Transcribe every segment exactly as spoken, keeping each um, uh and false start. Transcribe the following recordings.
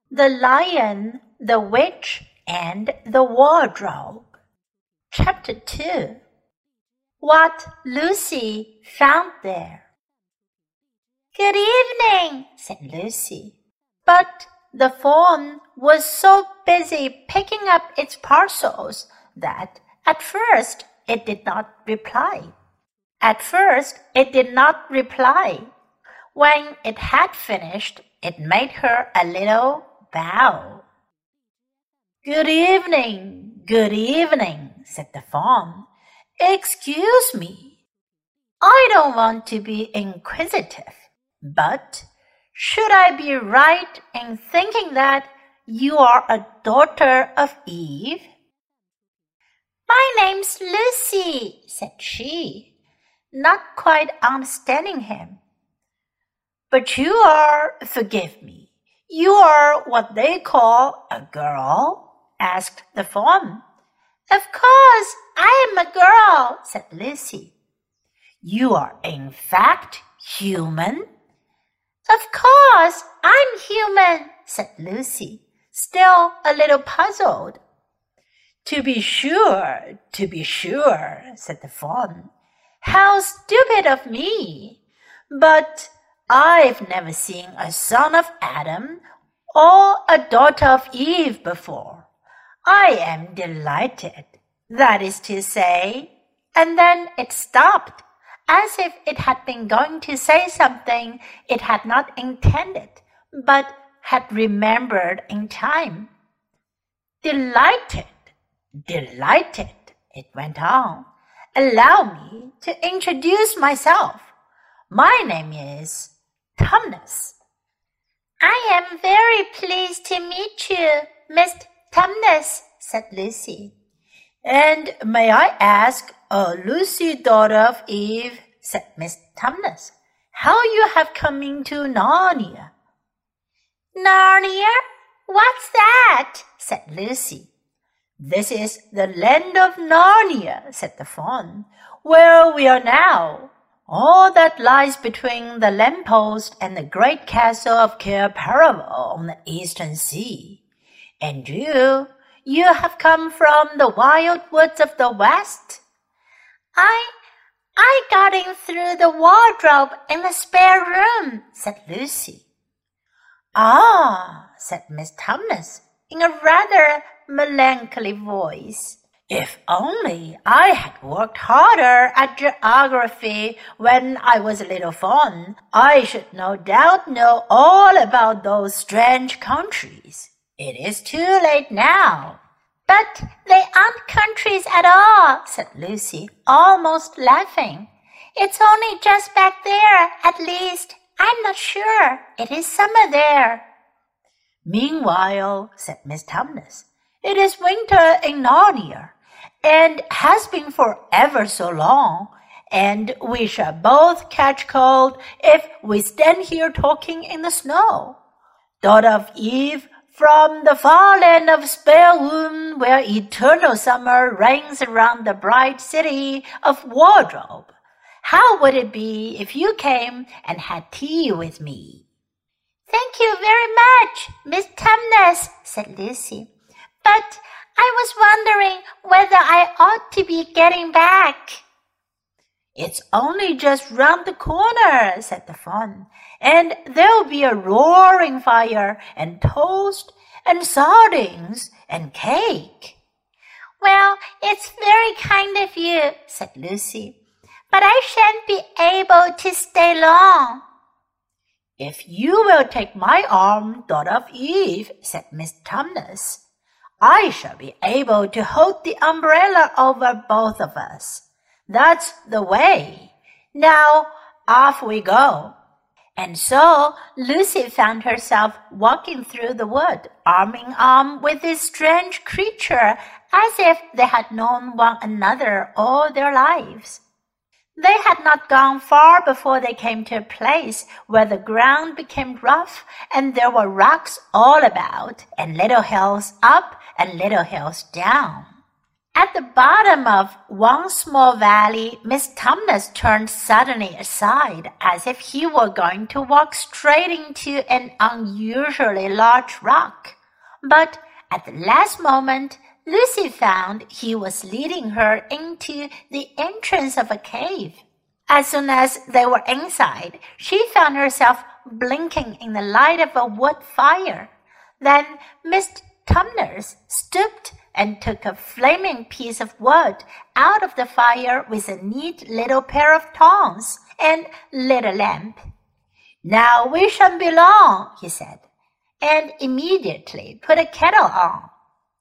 The Lion, the Witch, and the Wardrobe. Chapter two. What Lucy found there. Good evening, said Lucy. But the fawn was so busy picking up its parcels that at first it did not reply. At first it did not reply. When it had finished, it made her a little bow. Good evening, good evening, said the fawn. Excuse me, I don't want to be inquisitive, but should I be right in thinking that you are a daughter of Eve? My name's Lucy, said she, not quite understanding him. But you are, forgive me, you are what they call a girl? Asked the fawn. Of course, I am a girl, said Lucy. You are in fact human? Of course, I'm human, said Lucy, still a little puzzled. To be sure, to be sure, said the fawn. How stupid of me! But I've never seen a son of Adam or a daughter of Eve before. I am delighted, that is to say, and then it stopped, as if it had been going to say something it had not intended, but had remembered in time. Delighted, delighted, it went on. Allow me to introduce myself. My name is Tumnus. I am very pleased to meet you, Miss Tumnus, said Lucy. And may I ask, oh, Lucy, daughter of Eve, said Miss Tumnus, how you have come into Narnia? Narnia? What's that? said Lucy. This is the land of Narnia, said the fawn, where we are now. All that lies between the lamppost and the great castle of Cair Paravel on the eastern sea. And you, you have come from the wild woods of the west? I, I got in through the wardrobe in the spare room, said Lucy. Ah, said Miss Tumnus, in a rather melancholy voice. If only I had worked harder at geography when I was a little fawn, I should no doubt know all about those strange countries. It is too late now. But they aren't countries at all, said Lucy, almost laughing. It's only just back there, at least. I'm not sure. It is summer there. Meanwhile, said Miss Tumnus, it is winter in Narnia, and has been for ever so long, and we shall both catch cold if we stand here talking in the snow. Daughter of Eve, from the far land of Spellwood, where eternal summer reigns around the bright city of Wardrobe, how would it be if you came and had tea with me? Thank you very much, Miss Tumnus, said Lucy. But I was wondering whether I ought to be getting back. It's only just round the corner, said the fawn, and there'll be a roaring fire and toast and sardines and cake. Well, it's very kind of you, said Lucy, but I shan't be able to stay long. If you will take my arm, daughter of Eve, said Miss Tumnus, I shall be able to hold the umbrella over both of us. That's the way. Now, off we go. And so Lucy found herself walking through the wood, arm in arm with this strange creature, as if they had known one another all their lives. They had not gone far before they came to a place where the ground became rough, and there were rocks all about, and little hills up and little hills down. At the bottom of one small valley, Miss Tumnus turned suddenly aside as if he were going to walk straight into an unusually large rock. But at the last moment, Lucy found he was leading her into the entrance of a cave. As soon as they were inside, she found herself blinking in the light of a wood fire. Then Miss Tumnus stooped and took a flaming piece of wood out of the fire with a neat little pair of tongs and lit a lamp. "Now we shan't be long," he said, and immediately put a kettle on.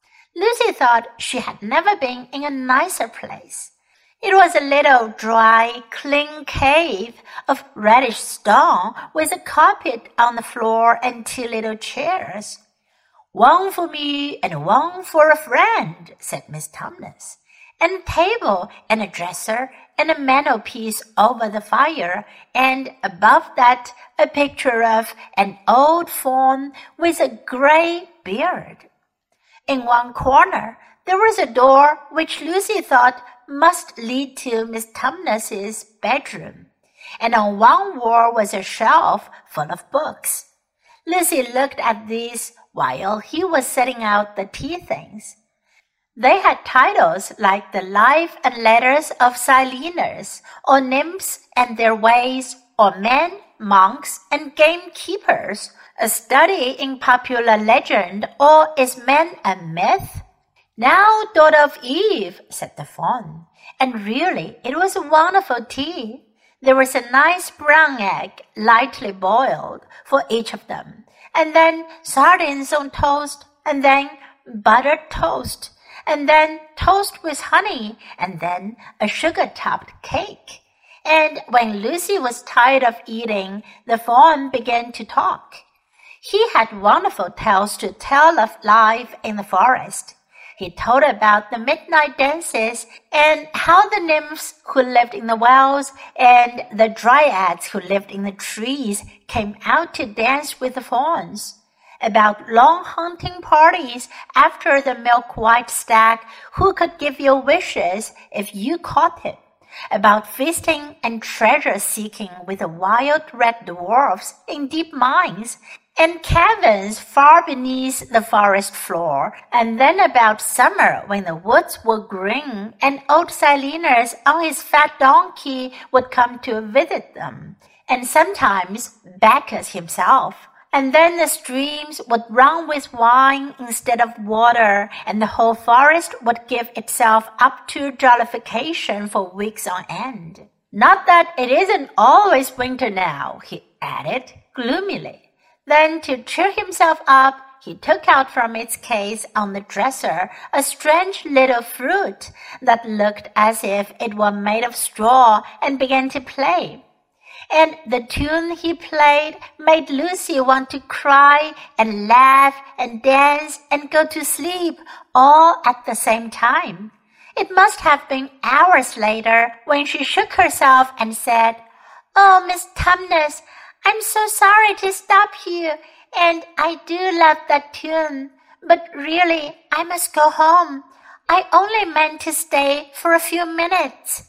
Lucy thought she had never been in a nicer place. It was a little dry, clean cave of reddish stone with a carpet on the floor and two little chairs. "One for me and one for a friend," said Miss Tumnus, "and a table and a dresser and a mantelpiece over the fire, and above that a picture of an old faun with a grey beard." In one corner there was a door which Lucy thought must lead to Miss Tumnus's bedroom, and on one wall was a shelf full of books. Lucy looked at these while he was setting out the tea things. They had titles like The Life and Letters of Silenus, or Nymphs and Their Ways, or Men, Monks, and Gamekeepers, a study in popular legend, or Is Man a Myth? "Now, daughter of Eve," said the faun, and really it was a wonderful tea. There was a nice brown egg, lightly boiled, for each of them, and then sardines on toast, and then buttered toast, and then toast with honey, and then a sugar-topped cake. And when Lucy was tired of eating, the faun began to talk. He had wonderful tales to tell of life in the forest. He told about the midnight dances and how the nymphs who lived in the wells and the dryads who lived in the trees came out to dance with the fauns, about long hunting parties after the milk-white stag who could give you wishes if you caught it, about feasting and treasure-seeking with the wild red dwarfs in deep mines, and caverns far beneath the forest floor, and then about summer when the woods were green and old Silenus on his fat donkey would come to visit them, and sometimes Bacchus himself. And then the streams would run with wine instead of water, and the whole forest would give itself up to jollification for weeks on end. "Not that it isn't always winter now," he added gloomily. Then, to cheer himself up, he took out from its case on the dresser a strange little fruit that looked as if it were made of straw and began to play. And the tune he played made Lucy want to cry and laugh and dance and go to sleep all at the same time. It must have been hours later when she shook herself and said, "Oh, Miss Tumnus, I'm so sorry to stop you, and I do love that tune, but really I must go home. I only meant to stay for a few minutes."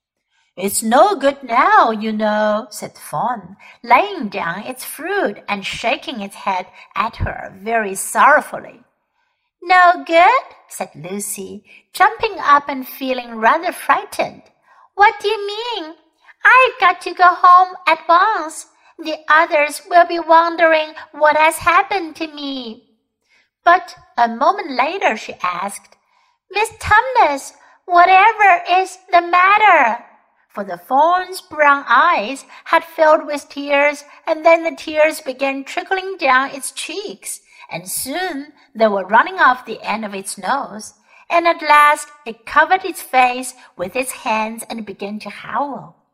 "It's no good now, you know," said the faun, laying down its fruit and shaking its head at her very sorrowfully. "No good?" said Lucy, jumping up and feeling rather frightened. "What do you mean? I've got to go home at once. The others will be wondering what has happened to me." But a moment later she asked, "Miss Tumnus, whatever is the matter?" For the faun's brown eyes had filled with tears, and then the tears began trickling down its cheeks, and soon they were running off the end of its nose, and at last it covered its face with its hands and began to howl.